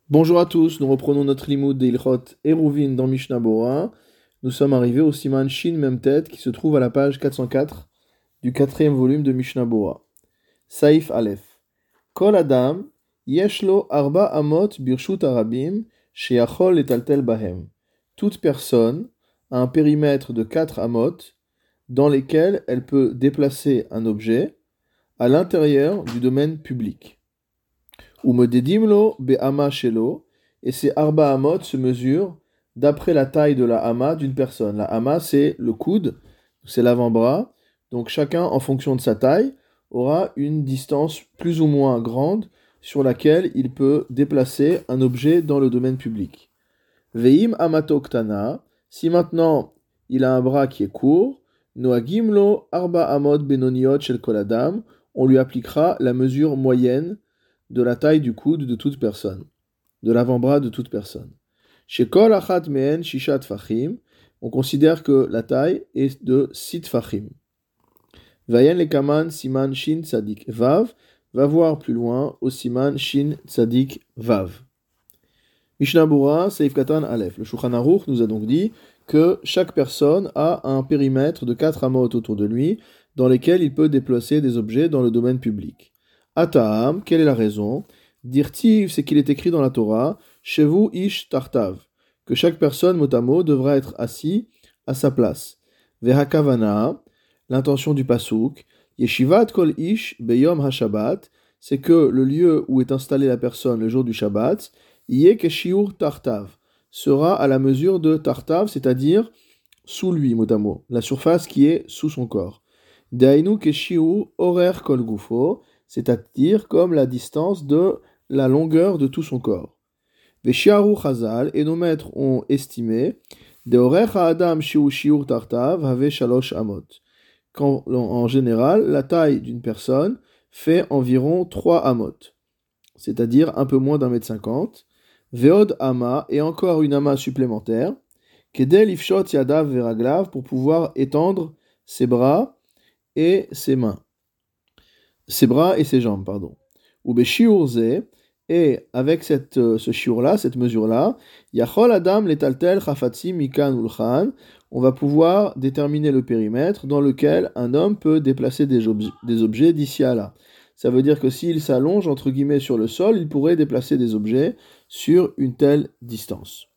Bonjour à tous, nous reprenons notre limoud d'Ilchot Eruvin dans Mishnah Bora. Nous sommes arrivés au siman Shin Memtet qui se trouve à la page 404 du quatrième volume de Mishnah Bora. Saif Aleph. Kol Adam, Yeshlo Arba Amot Birshut Arabim, Sheachol Etaltel Bahem. Toute personne a un périmètre de 4 amot dans lesquels elle peut déplacer un objet à l'intérieur du domaine public. Ou mededimlo be'ama shelo, et ces arba amot se mesurent d'après la taille de la hama d'une personne. La hama, c'est le coude, c'est l'avant-bras. Donc chacun, en fonction de sa taille, aura une distance plus ou moins grande sur laquelle il peut déplacer un objet dans le domaine public. Veim amato ktana, si maintenant il a un bras qui est court, noagimlo arba amot benoniot shel kol adam, on lui appliquera la mesure moyenne de la taille du coude de toute personne, de l'avant-bras de toute personne. Chez Kol Achat Mehen Shishat Fachim, on considère que la taille est de 6 Fachim. Vayen Lekaman Siman Shin Tzadik Vav, va voir plus loin au Siman Shin Tzadik Vav. Mishnah Bura Seif Katan Aleph. Le Shulchan Aruch nous a donc dit que chaque personne a un périmètre de 4 amot autour de lui, dans lesquels il peut déplacer des objets dans le domaine public. Ata'am, quelle est la raison? Dirtiv, c'est qu'il est écrit dans la Torah, Shevu ish tartav, que chaque personne, mot à mot, devra être assis à sa place. Vehakavana, l'intention du pasouk, Yeshivat kol ish beyom hashabbat, c'est que le lieu où est installée la personne le jour du Shabbat, yé keshiur tartav, sera à la mesure de tartav, c'est-à-dire sous lui, mot à mot, la surface qui est sous son corps. Dainu keshiur horer kol gufo, c'est-à-dire comme la distance de la longueur de tout son corps. Veshiaru Chazal, et nos maîtres ont estimé, de Orecha Adam Shiu Shiur Tartav Have Shalosh Amot. Quand, en général, la taille d'une personne fait environ 3 amot, c'est-à-dire un peu moins d'1,50 m. Veod Ama, et encore une ama supplémentaire, Kedel Ifshot Yadav Veraglav, pour pouvoir étendre ses bras et ses mains. Ses bras et ses jambes, pardon. Ou beshiurze, et avec ce shiur-là, cette mesure-là, yachol adam letaltel chafatzi mikan ulchan, on va pouvoir déterminer le périmètre dans lequel un homme peut déplacer des objets d'ici à là. Ça veut dire que s'il s'allonge, entre guillemets, sur le sol, il pourrait déplacer des objets sur une telle distance.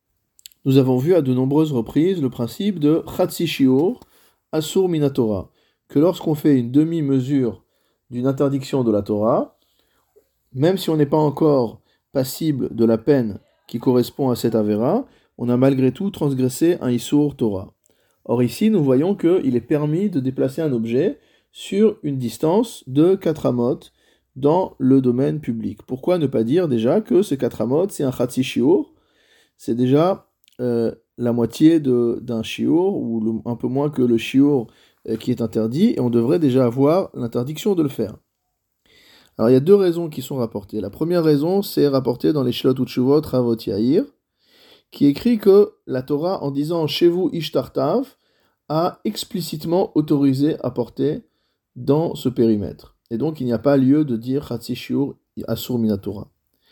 Nous avons vu à de nombreuses reprises le principe de chatzi shiur asur minatora, que lorsqu'on fait une demi-mesure d'une interdiction de la Torah, même si on n'est pas encore passible de la peine qui correspond à cette avéra, on a malgré tout transgressé un Issour Torah. Or ici, nous voyons qu'il est permis de déplacer un objet sur une distance de 4 amot dans le domaine public. Pourquoi ne pas dire déjà que ces 4 amot, c'est un chatzi shiur, c'est déjà la moitié d'un shiur, ou un peu moins que le shiur qui est interdit, et on devrait déjà avoir l'interdiction de le faire. Alors il y a 2 raisons qui sont rapportées. La première raison, c'est rapporté dans les Shlot Utshuvot Ravot Yair, qui écrit que la Torah, en disant Shevu ish tartav, a explicitement autorisé à porter dans ce périmètre. Et donc il n'y a pas lieu de dire Chatzi Shiur Asur Minatora.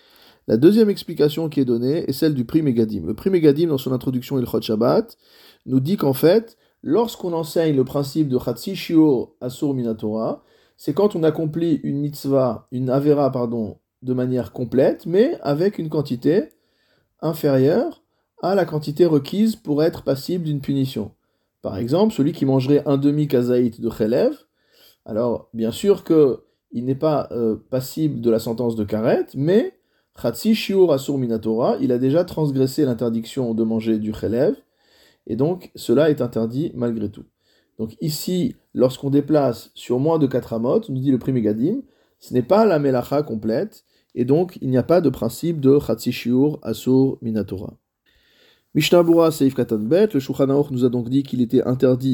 La deuxième explication qui est donnée est celle du Pri Megadim. Le Pri Megadim, dans son introduction Ilchot Shabbat, nous dit qu'en fait, lorsqu'on enseigne le principe de Chatzi Shiur Asur Minatora, c'est quand on accomplit une mitzvah, une avera, de manière complète, mais avec une quantité inférieure à la quantité requise pour être passible d'une punition. Par exemple, celui qui mangerait un demi-kazaït de chelev, alors bien sûr qu'il n'est pas passible de la sentence de karet, mais Chatzi Shiur Asur Minatora, il a déjà transgressé l'interdiction de manger du chelev, et donc cela est interdit malgré tout. Donc ici, lorsqu'on déplace sur moins de 4 amot, nous dit le Pri Megadim, ce n'est pas la melacha complète, et donc il n'y a pas de principe de Chatzi Shiur Asur Minatora. Mishnah Bura Seif Katan Bet, le Shulchan Aruch nous a donc dit qu'il était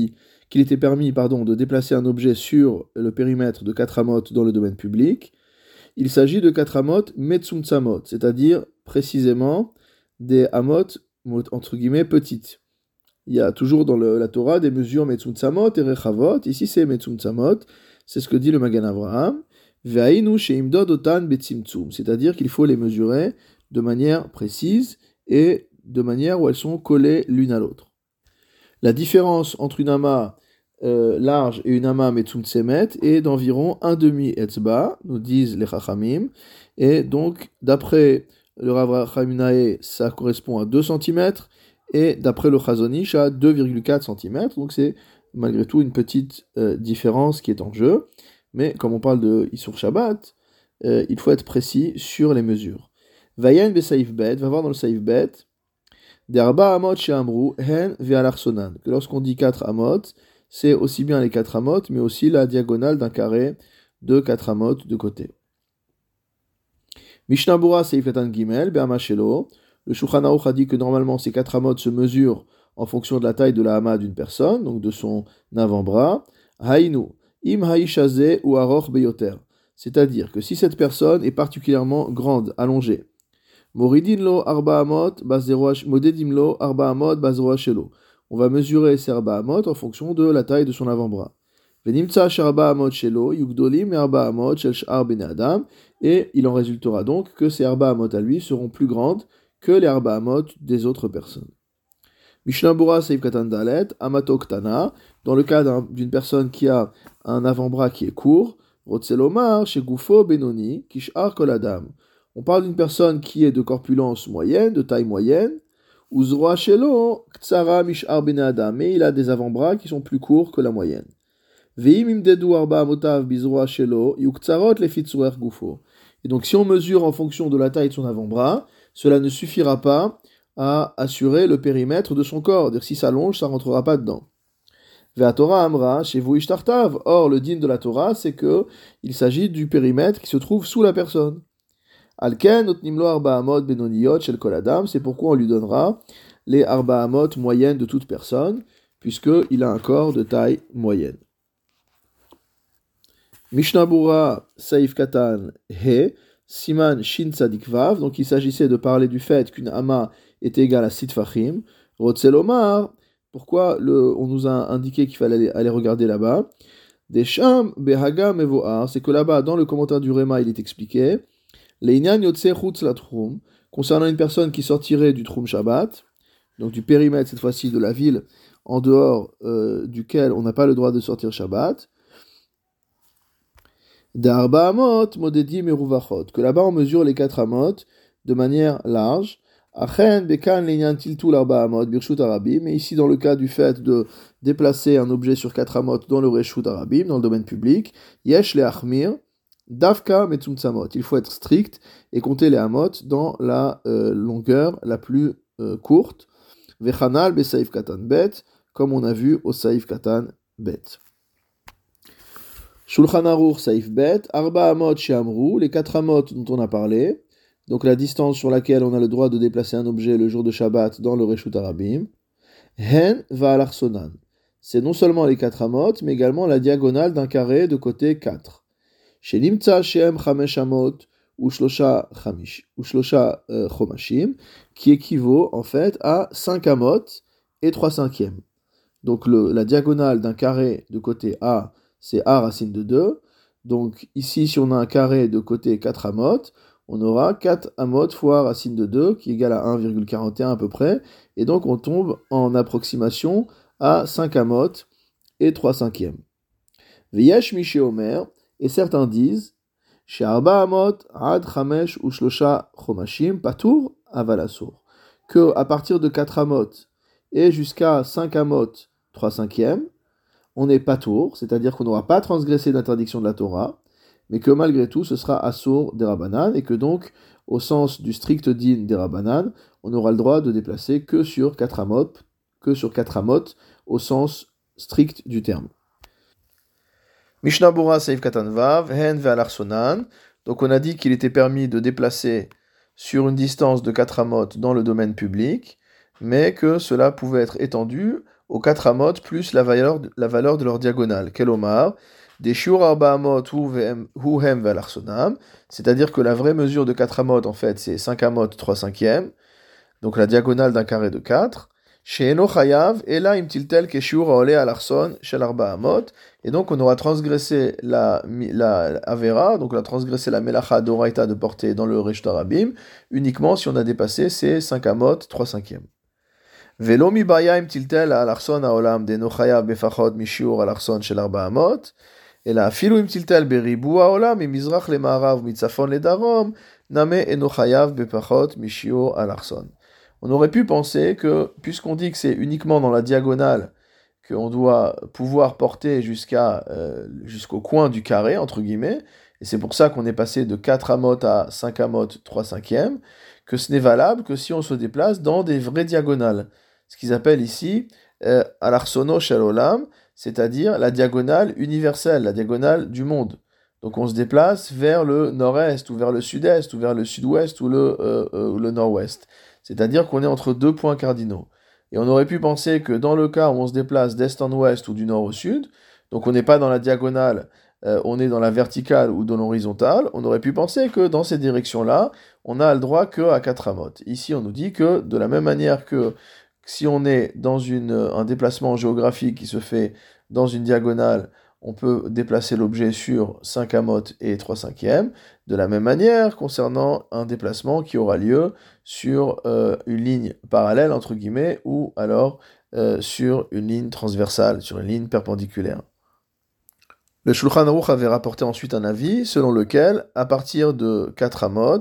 permis de déplacer un objet sur le périmètre de 4 amot dans le domaine public. Il s'agit de 4 amot metzumtzamot, c'est-à-dire précisément des amot, entre guillemets, petites. Il y a toujours dans la Torah des mesures metzumtzamot et rechavot. Ici, c'est metzumtzamot. C'est ce que dit le Magan Avraham. Ve'ainu sheimdod otan betzimtzum. C'est-à-dire qu'il faut les mesurer de manière précise et de manière où elles sont collées l'une à l'autre. La différence entre une ama large et une ama metzumtsemet est d'environ un demi etzba, nous disent les chachamim, et donc d'après le Rav Chaminae, ça correspond à 2 cm, et d'après le Chazonish à 2,4 cm, donc c'est malgré tout une petite différence qui est en jeu, mais comme on parle de Issour Shabbat, il faut être précis sur les mesures. Vayen be saif bet, va voir dans le saif bet, Derba amot chez Amrou, hen ve'alarsonan. Que lorsqu'on dit 4 amot, c'est aussi bien les 4 amot, mais aussi la diagonale d'un carré de 4 amot de côté. Mishnah Bura Seif Katan Gimel, Be'ama Shelo. Le Shulchan Aruch a dit que normalement ces 4 amot se mesurent en fonction de la taille de la hama d'une personne, donc de son avant-bras. Haïnu, im haïchaze ou aroch beyoter. C'est-à-dire que si cette personne est particulièrement grande, allongée, Moridin lo arba amot modedim lo arba amot bazroa shelo. On va mesurer ces arba amot en fonction de la taille de son avant-bras. Venimtsa sharba amot shelo yugdolim et arba amot shel shar bene adam. Et il en résultera donc que ces arba amot à lui seront plus grandes que les arba amot des autres personnes. Mishnah Bura Seif Katan Dalet Amato Ktana. Dans le cas d'une personne qui a un avant-bras qui est court, Rotzelomar chez Gufo Benoni Kishar Koladam. On parle d'une personne qui est de corpulence moyenne, de taille moyenne, ou Zroa Shelo, Ktsara Mishar Ben Adam, mais il a des avant-bras qui sont plus courts que la moyenne. Veim imdedu arba amotav bizroa shelo, yuktsarot lefitzurer gufo. Et donc si on mesure en fonction de la taille de son avant-bras, cela ne suffira pas à assurer le périmètre de son corps. C'est-à-dire si ça allonge, ça rentrera pas dedans. Ve'a Torah amra shevu ishtartav. Or, le din de la Torah, c'est que il s'agit du périmètre qui se trouve sous la personne. Alken otnimlo arba amot benoniyot shel kol adam, c'est pourquoi on lui donnera les arba amot moyennes de toute personne, puisqu'il a un corps de taille moyenne. Mishnah Bura Saif Katan He, Siman Shin Tzadik Vav, donc il s'agissait de parler du fait qu'une ama est égale à Sitfachim. Rotzelomar, pourquoi on nous a indiqué qu'il fallait aller regarder là-bas. Desham Behaga Mevoar, c'est que là-bas, dans le commentaire du Réma, il est expliqué. L'Einyan Yotse Chutz la Trum, concernant une personne qui sortirait du Trum Shabbat, donc du périmètre cette fois-ci de la ville en dehors duquel on n'a pas le droit de sortir Shabbat, D'Arba Amot Modedim Eruvachot, que là-bas on mesure les 4 amot de manière large. Achen Bekan L'Einyan Tiltul Arba Amot Birshut Arabim, mais ici dans le cas du fait de déplacer un objet sur 4 amot dans le Reshut Arabim, dans le domaine public, Yesh Le Achmir, Davka Metzumtzamot, il faut être strict et compter les amot dans la longueur la plus courte. Vechanal be Saif Katan Bet, comme on a vu au Saif Katan Bet. Shulchan Aruch Saif Bet, Arba Amot Sheamru, les 4 amot dont on a parlé, donc la distance sur laquelle on a le droit de déplacer un objet le jour de Shabbat dans le Reshut Arabim. Hen Va'alarsonan, c'est non seulement les 4 amot, mais également la diagonale d'un carré de côté 4. Shenimtsa Shem Chamesh Amot ou Shlosha Chomashim, qui équivaut en fait à 5 amot et 3/5. Donc la diagonale d'un carré de côté A, c'est A racine de 2. Donc ici, si on a un carré de côté 4 amot, on aura 4 amot fois racine de 2, qui égale à 1,41 à peu près. Et donc on tombe en approximation à 5 amot et 3/5. V'yesh Miché Omer, et certains disent chez Arba Amot, Ad Chamesh ou Shlosha Chomashim, Patour Avalasur, que à partir de 4 amot et jusqu'à 5 amot 3/5, on n'est pas tour, c'est-à-dire qu'on n'aura pas transgressé l'interdiction de la Torah, mais que malgré tout ce sera assour des Rabbanan, et que donc, au sens du strict din des Rabbanan, on aura le droit de déplacer que sur 4 amot, au sens strict du terme. Mishnah Bura Seif Katan Vav, Hen Ve'alarsonan. Donc on a dit qu'il était permis de déplacer sur une distance de 4 amot dans le domaine public, mais que cela pouvait être étendu aux 4 amot plus la valeur de leur diagonale. Kelomar, des shiur arba amot hu hem ve'alarsonam, c'est-à-dire que la vraie mesure de 4 amot, en fait, c'est 5 amot 3/5, donc la diagonale d'un carré de 4. She'eno chayav, ela im tiltel keshiur haole al arson shel arba amot. Et donc on aura transgressé la avera, donc on a transgressé la melacha d'oraita de porter dans le Resh Tarabim, uniquement si on a dépassé ces 5 amot, 3/5. Velo mi baya im tiltel al arson haolam deno chayav befachot mishiur al arson shel arba amot. Et là, filu im tiltel beribu haolam mi mizrach le ma'arav mitzafon le darom name eno chayav befachot mishiur al arson. On aurait pu penser que, puisqu'on dit que c'est uniquement dans la diagonale qu'on doit pouvoir porter jusqu'au coin du carré, entre guillemets, et c'est pour ça qu'on est passé de 4 amot à 5 amot, 3/5, que ce n'est valable que si on se déplace dans des vraies diagonales. Ce qu'ils appellent ici al-arsono shel olam, c'est-à-dire la diagonale universelle, la diagonale du monde. Donc on se déplace vers le nord-est, ou vers le sud-est, ou vers le sud-ouest, ou le nord-ouest. C'est-à-dire qu'on est entre deux points cardinaux. Et on aurait pu penser que dans le cas où on se déplace d'est en ouest ou du nord au sud, donc on n'est pas dans la diagonale, on est dans la verticale ou dans l'horizontale, on aurait pu penser que dans ces directions-là, on n'a le droit qu'à 4 amot. Ici, on nous dit que de la même manière que si on est dans un déplacement géographique qui se fait dans une diagonale, on peut déplacer l'objet sur 5 amot et 3/5. De la même manière, concernant un déplacement qui aura lieu sur une ligne parallèle, entre guillemets, ou alors sur une ligne transversale, sur une ligne perpendiculaire. Le Shulchan Aruch avait rapporté ensuite un avis selon lequel, à partir de 4 amot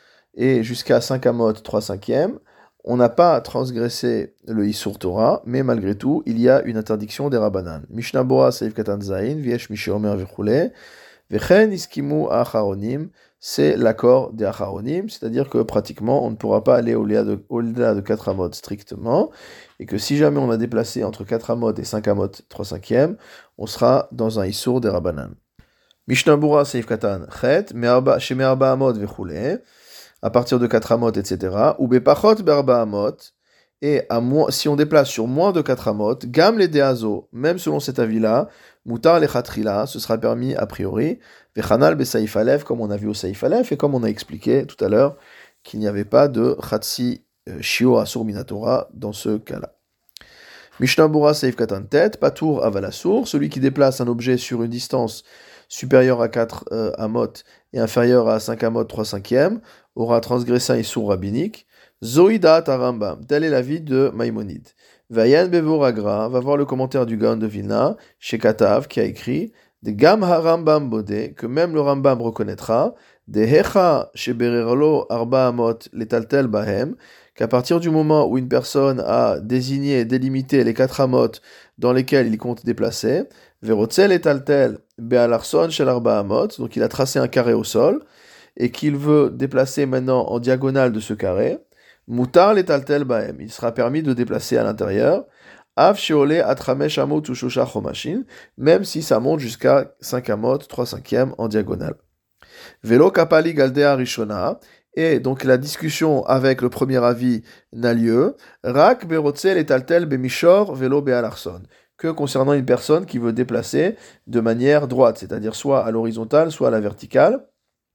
et jusqu'à 5 amot 3/5, on n'a pas transgressé le Isur Torah, mais malgré tout, il y a une interdiction des Rabbanan. Mishnah Bora Seif Katan Zayin, Viesh Mishéomer Vichule, Vechen Iskimu Acharonim, c'est l'accord des Acharonim, c'est-à-dire que pratiquement on ne pourra pas aller au-delà de 4 amot strictement, et que si jamais on a déplacé entre 4 amot et 5 amot 3/5, on sera dans un Isur des Rabbanan. Mishnah Bora Seif Katan Chet, Sheme Arba Amot Vichule, à partir de 4 amot, etc. Ou bepachot berba amot, et si on déplace sur moins de 4 amot, gam les deazo, même selon cet avis-là, mutar le chatrila, ce sera permis a priori, vechanal be saif alef, comme on a vu au saif alef, et comme on a expliqué tout à l'heure, qu'il n'y avait pas de chatsi shio asur minatora dans ce cas-là. Mishnah Bora saif katan tet, patour avalasur, celui qui déplace un objet sur une distance supérieure à 4 amot et inférieure à 5 amot 3/5, aura transgressé un issur rabbinique. Zoïdat Rambam, tel est l'avis de Maïmonide. Vayan Bevoragra, va voir le commentaire du Gaon de Vilna, chez Katav, qui a écrit de Gam HaRambam Bodé, que même le Rambam reconnaîtra, de Hecha Shebererlo Arba Amot Letaltel Bahem, qu'à partir du moment où une personne a désigné et délimité les 4 amot dans lesquels il compte déplacer, Verotzel Letaltel Bealarson Shel Arba Amot, donc il a tracé un carré au sol, et qu'il veut déplacer maintenant en diagonale de ce carré, Mutar letaltel baem, il sera permis de déplacer à l'intérieur, Av sheole atramesh amot ou shosha chomashin, même si ça monte jusqu'à 5 amot, 3/5 en diagonale. Velo kapali galdea rishona, et donc la discussion avec le premier avis n'a lieu, Rak berotzel letaltel bemishor velo bealarson, que concernant une personne qui veut déplacer de manière droite, c'est-à-dire soit à l'horizontale, soit à la verticale,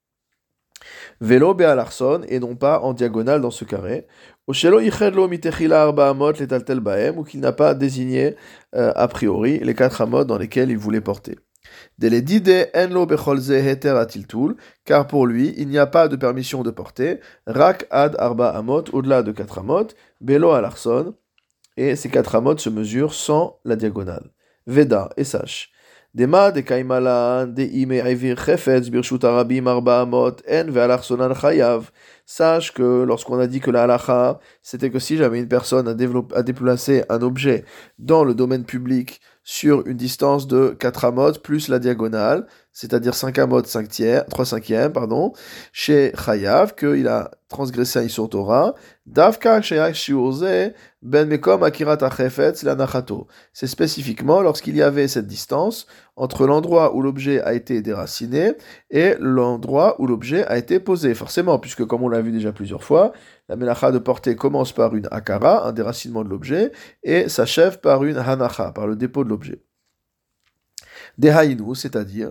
Vélo be'alarson, et non pas en diagonale dans ce carré. Oshelo ichedlo mitechila arba amot letaltel baem, ou qu'il n'a pas désigné a priori les 4 amot dans lesquels il voulait porter. Deledide enlo becholze heter atiltul, car pour lui, il n'y a pas de permission de porter, rak ad arba amot, au-delà de 4 amot, belo alarson, et ces 4 amot se mesurent sans la diagonale. Veda, et sache. Dema de kaimala de ime evir chefetz birshut arabim arba amot en ve'alarsonan chayav. Sache que lorsqu'on a dit que la halacha, c'était que si jamais une personne a déplacé un objet dans le domaine public sur une distance de 4 amot plus la diagonale, c'est-à-dire 5 amot 3/5, chez chayav, qu'il a transgressé un Issur Torah, davka sheyak shiurze ben mekom akirat achefetz lanachato. C'est spécifiquement lorsqu'il y avait cette distance entre l'endroit où l'objet a été déraciné et l'endroit où l'objet a été posé. Forcément, puisque comme on l'a vu déjà plusieurs fois, la melacha de porter commence par une akara, un déracinement de l'objet, et s'achève par une hanacha, par le dépôt de l'objet. Dehainu, c'est-à-dire,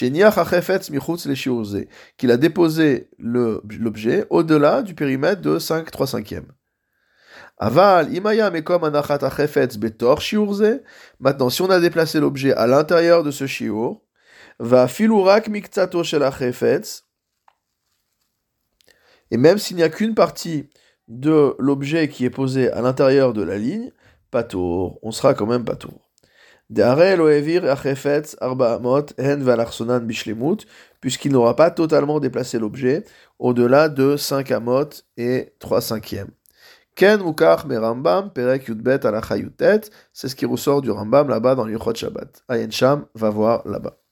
qu'il a déposé l'objet au-delà du périmètre de 5/3/5. Aval, imaya mekom anachat achefetz betor shiurze. Maintenant, si on a déplacé l'objet à l'intérieur de ce shiur, va filurak miktsato shel achefetz. Et même s'il n'y a qu'une partie de l'objet qui est posée à l'intérieur de la ligne, patour, on sera quand même patour. Puisqu'il n'aura pas totalement déplacé l'objet au-delà de 5 amot et 3/5. Ken mukach me Rambam, perek yudbet alacha yutet, c'est ce qui ressort du Rambam là-bas dans l'Ilchot Shabbat. Ayen Sham va voir là-bas.